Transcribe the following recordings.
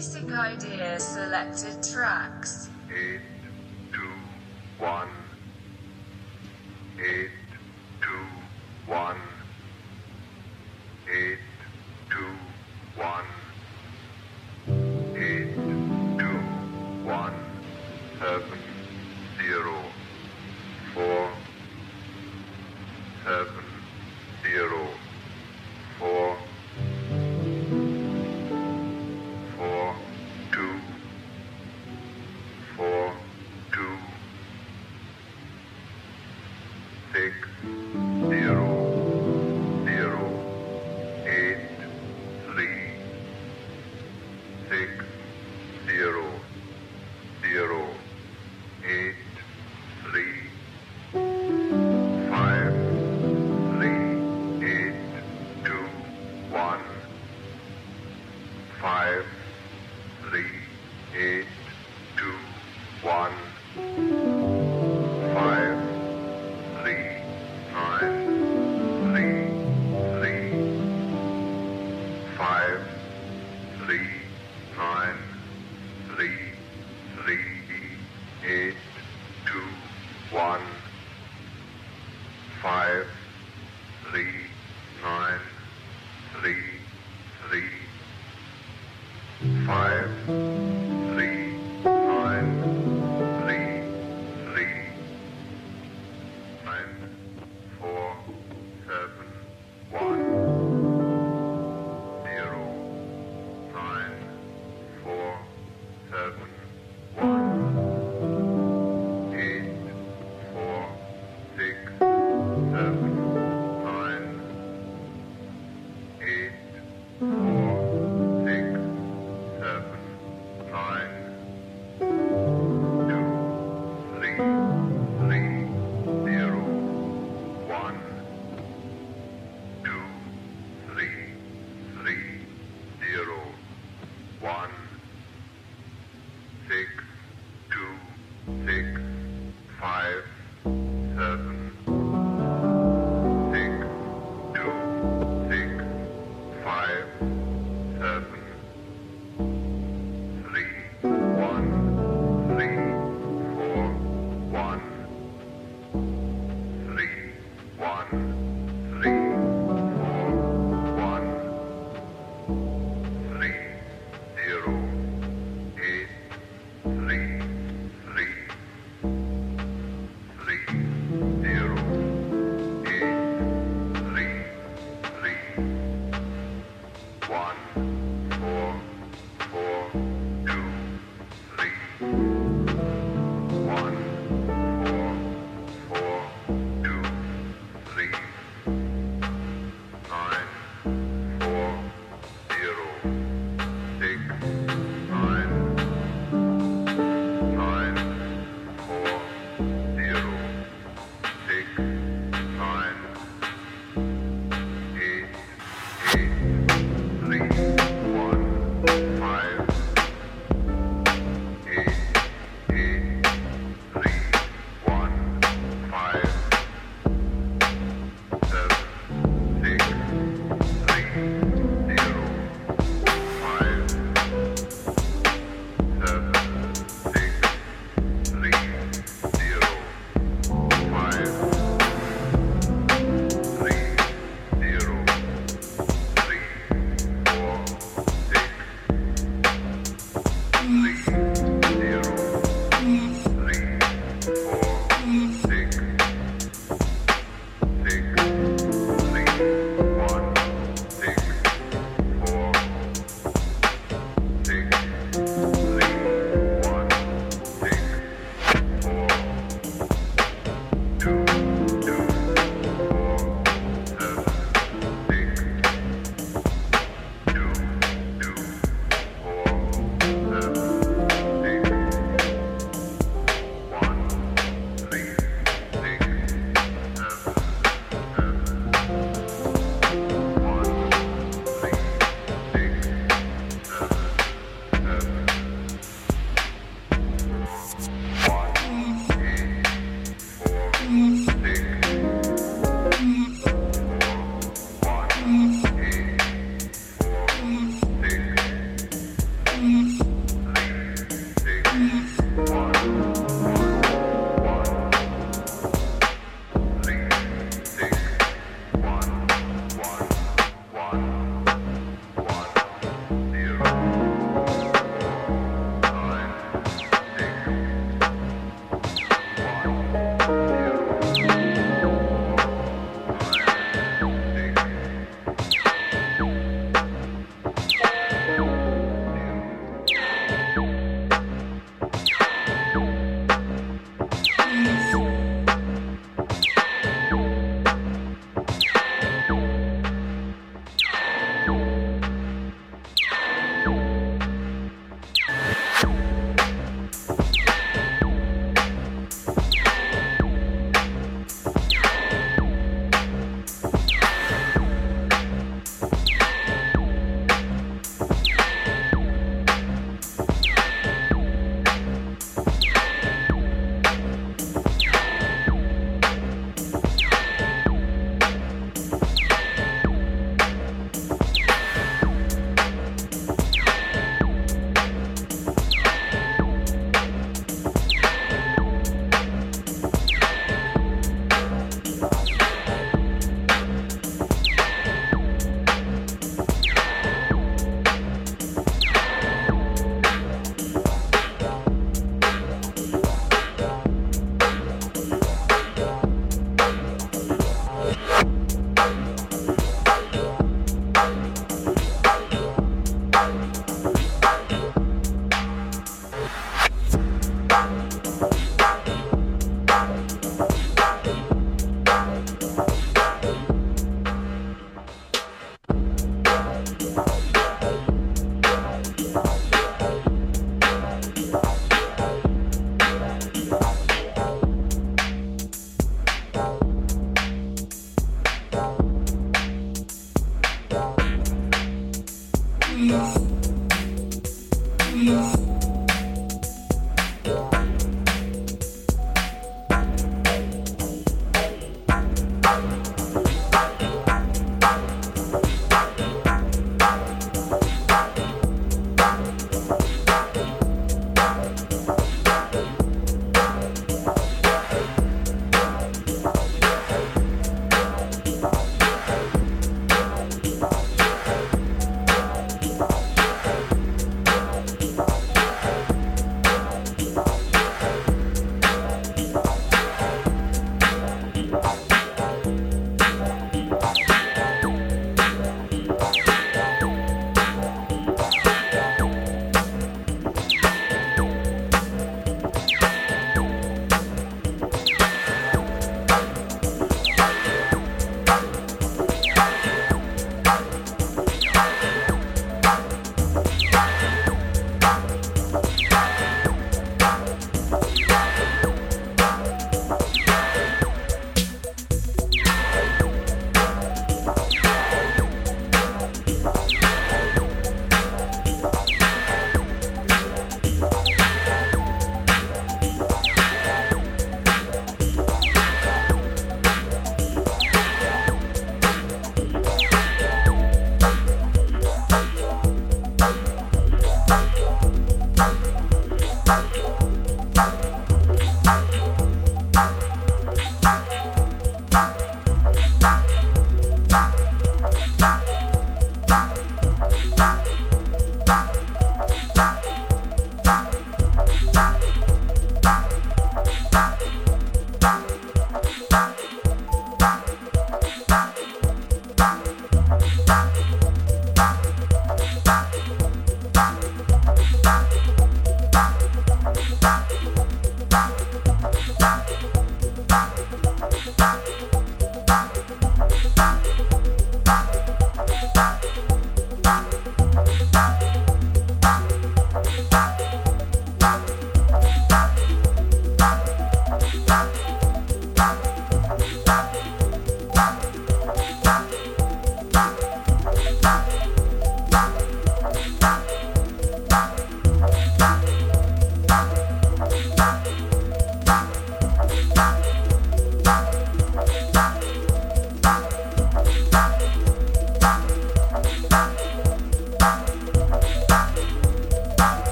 Basic Idea selected tracks. 8, 2, 1. 8, 2, 1. 8, 2, 1. 8, 2, 1. 7, 0. 4, 7, 0. 4, 4, 2, 4, 2, 6, 0, 0, 8, 3, 6, 0, 0, 8, 3, 5, 3, 8, 2, 1, 5, 3, 8, 2, 1, 5, 3, 9, 3, 3, 5, 3, 9, 3, 3, 8, 2, 1, 5, 3, 9, 3, 3, 5, 3, 9, 3, 3, 9, 4, 7, 1, 0, 9, 4, 7, 1, 8, 4, 6, 7, 9, 8, 4, 6, 7,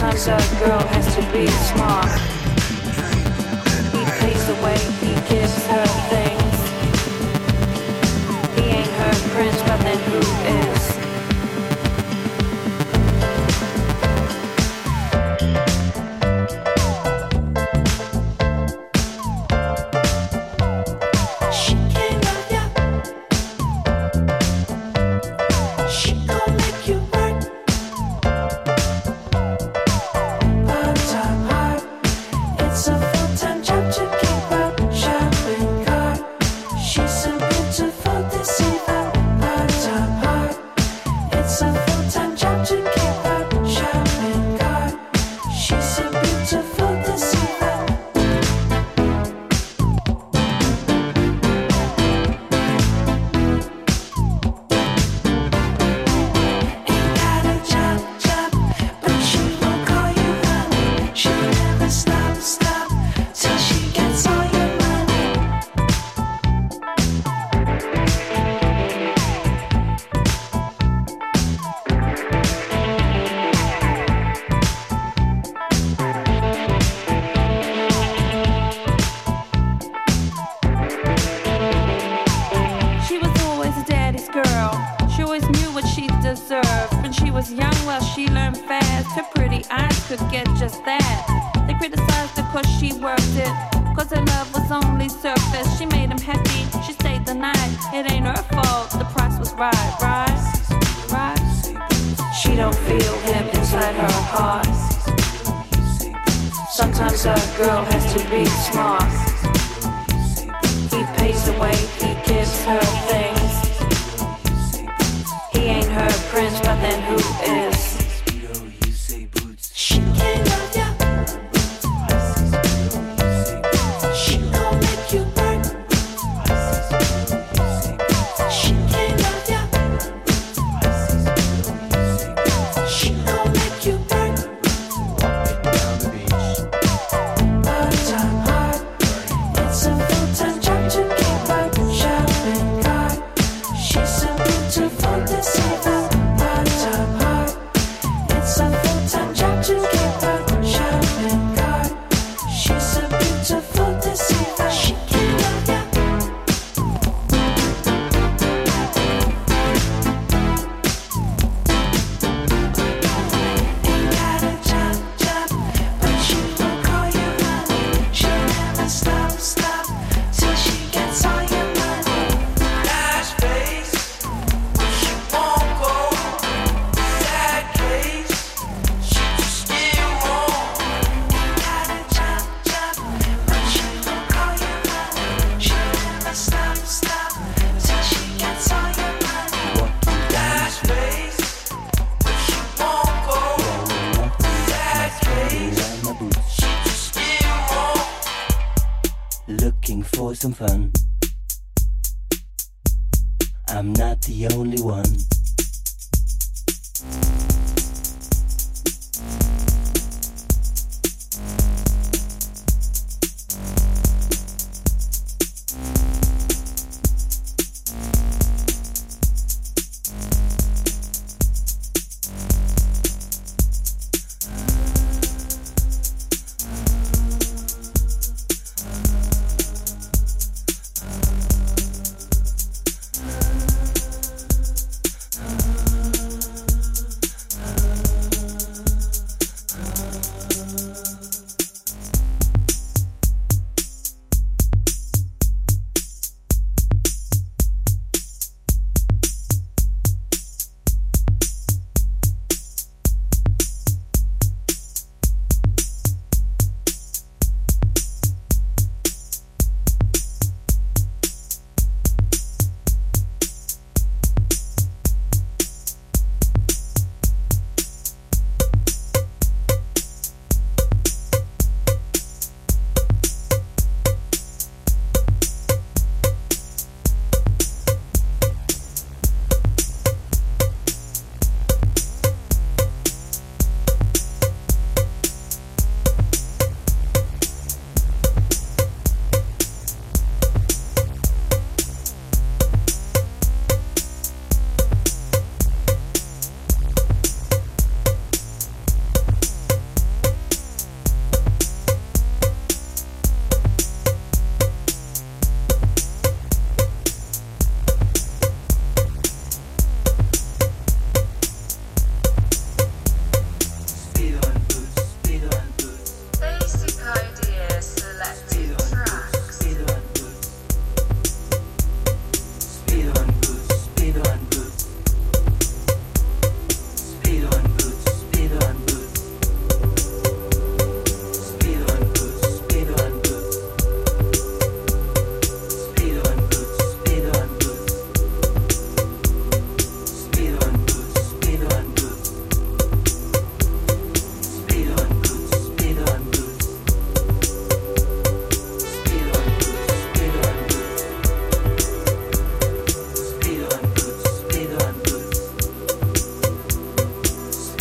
Sometimes a girl has to be smart. He pays the way, he gives her things. He ain't her prince, but then who is? Some fun. I'm not the only one.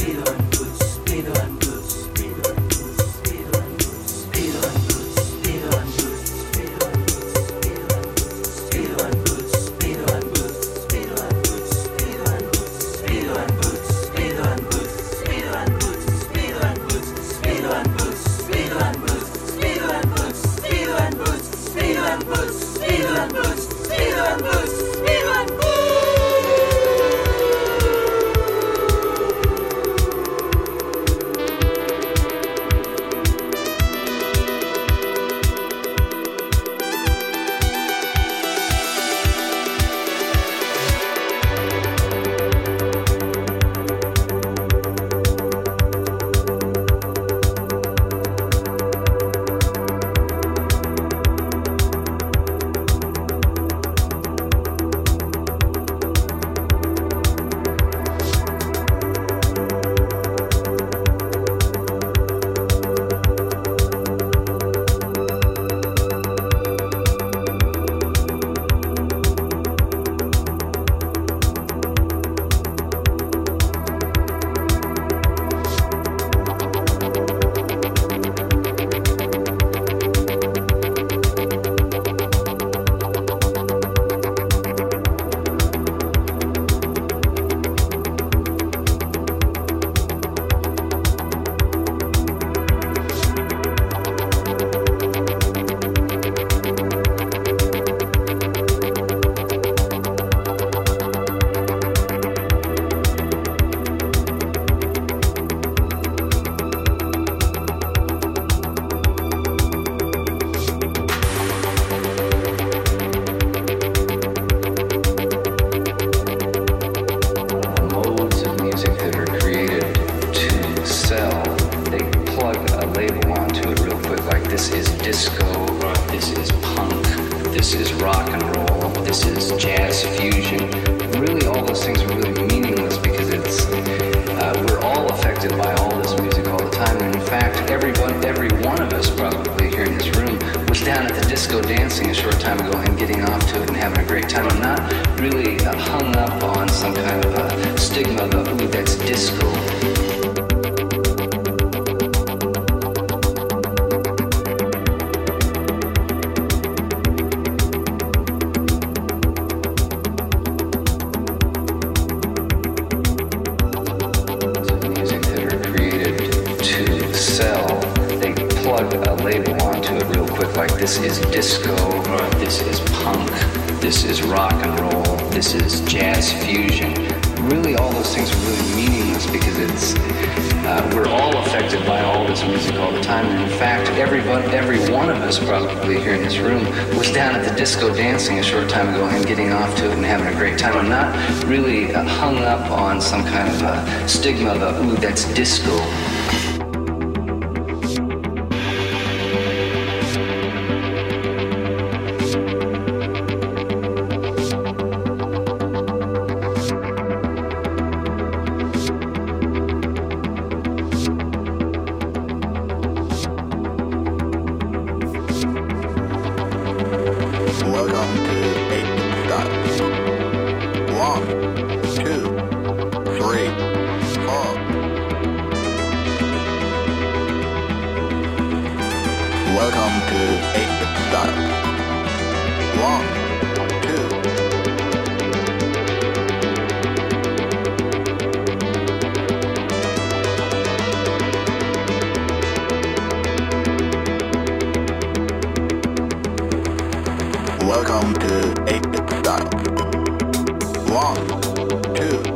Disco dancing a short time ago and getting off to it and having a great time. I'm not really hung up on some kind of a stigma of, ooh, that's disco. Welcome to 8-bit style. 1, 2.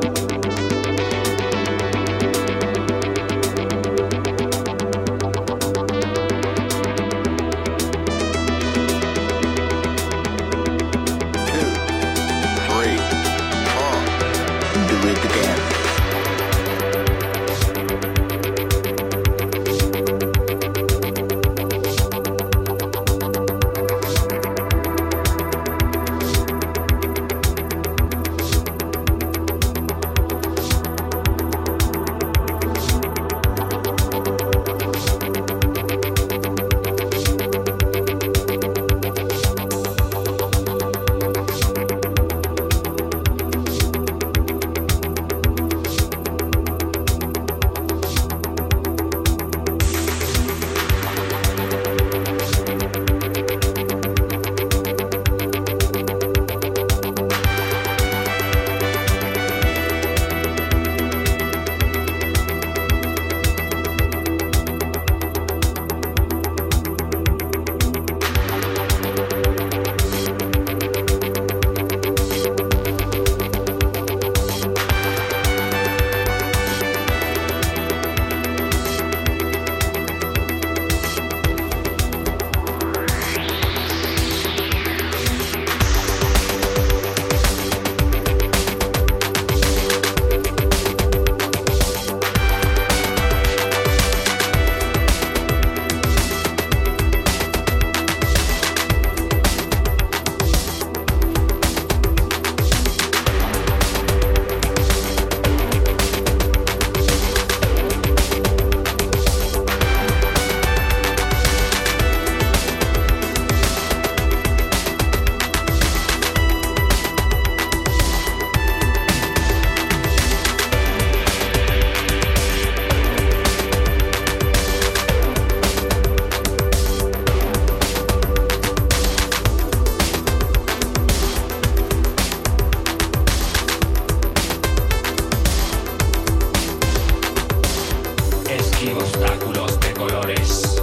Esquivo obstáculos de colores,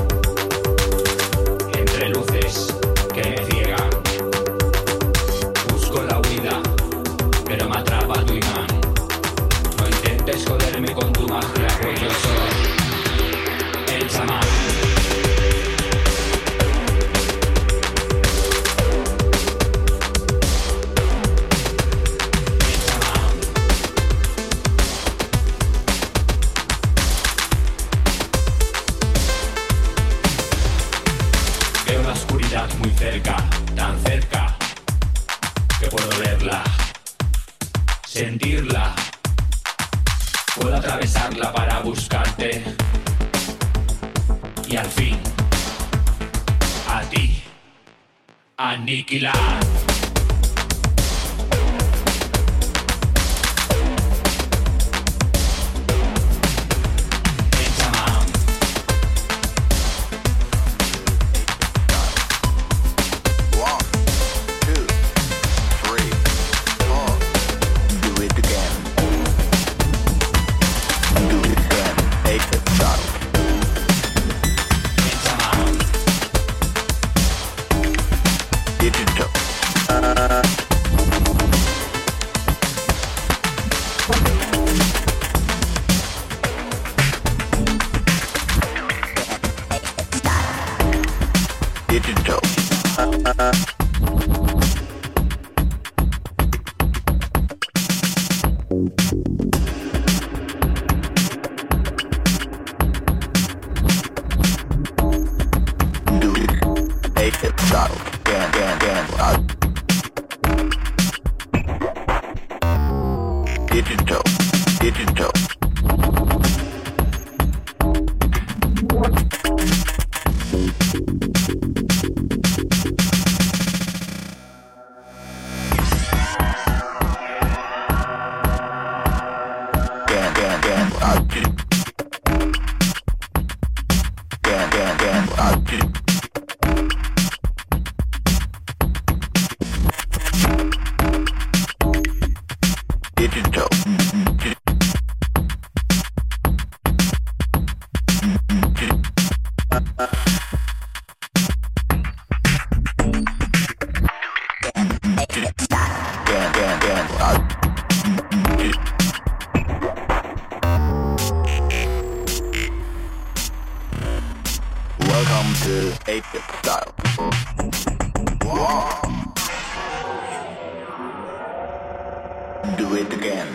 entre luces que me ciegan. Busco la huida, pero me atrapa tu imán. No intentes joderme con tu magia, pues yo soy el chamán. Muy cerca, tan cerca, que puedo verla, sentirla. Puedo atravesarla para buscarte y al fin a ti aniquilar. Welcome to 8-bit style. Wow. Do it again.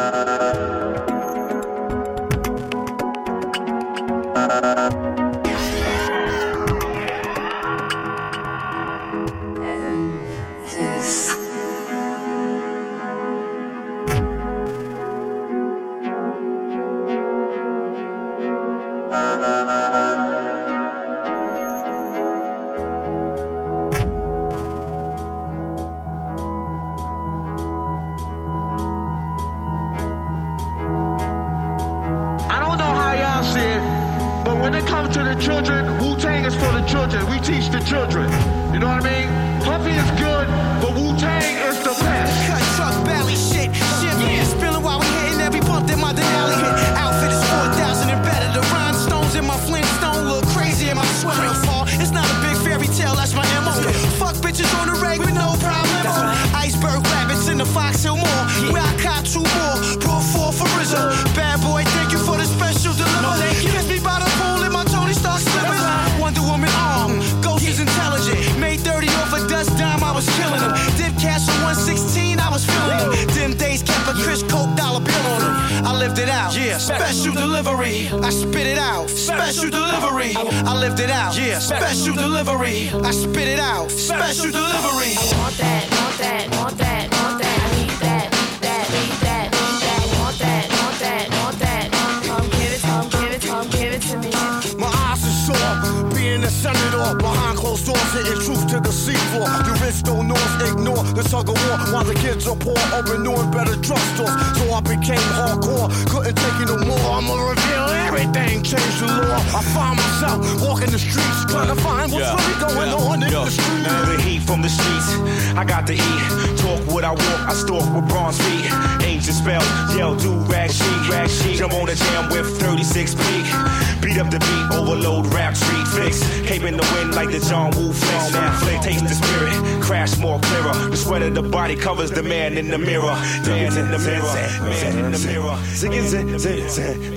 I don't know how y'all see it, but when it comes to the children, Wu-Tang is for the children. We teach the children. You know what I mean? Puffy is good, but Wu-Tang is the best. Cut truck, valley shit. Champagne spilling while we hitting every bump that my Denali hit. Outfit is 4,000 and better. The rhinestones in my Flintstone look crazy in my sweater fall. It's not a big fairy tale, that's my MO. Fuck bitches on the reg with no problem. Iceberg rabbits in the Fox Hill Mall. Where I caught 2 more. Brought 4 for Rizzo. Bad boy, thank you for the special delivery. Kiss me by the pool and my Tony Stark slippers. Wonder Woman arm. Ghost is intelligent. Made 30 off a dust dime, I was killing them. Dip cash on 116, I was feeling them. Them days kept a Chris Coke dollar bill on them. I lived it out. Yeah. Special delivery. I spit it out. Special delivery. I lived it out. Yeah. Special delivery. I spit it out. Special delivery. Want that, want that, want that, want that. I need that, need that, need that, need that. Want that, want that, want that. Come give it, come give it, come give it to me. My eyes are sore, being a senator behind closed doors, hitting truth to the seafloor. The rich don't know us, ignore the tug of war while the kids are poor, opening better drugstores. So I became hardcore, couldn't take it no more. I'ma reveal everything, change the law. I find myself walking the streets, trying to find what's really going on in the streets. The heat from the streets, I got to eat. Talk what I walk, I stalk with bronze feet. Ancient spells, yell, do rag sheet. Jump on the jam with 36 peak. Beat up the beat, overload, rap, street fix. Cape in the wind like the John Woo flick. Now flick, taste the spirit, crash more clearer. The sweat of the body covers the man in the mirror. Man in the mirror, man in the mirror. Sing it, sing it, sing it,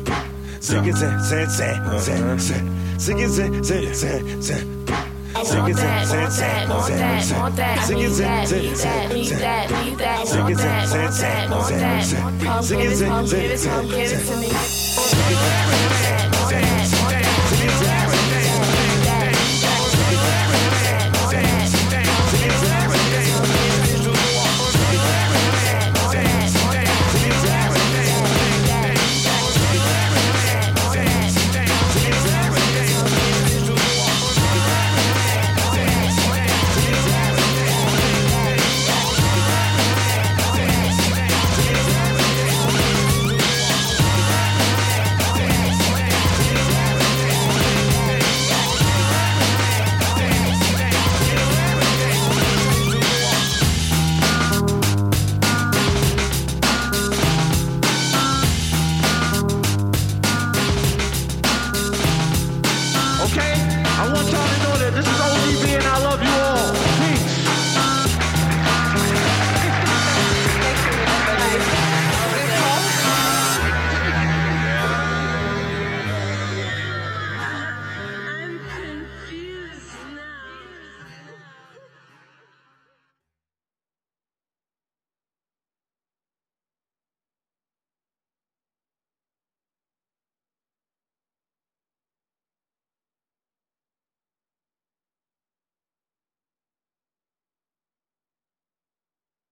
sing it, sing it, sing it. I want that, want that, want that, want that. I need that, need that, need that, need that. Want that, want that, want that. Come give it, come give it, come give it to me. Want that, want that.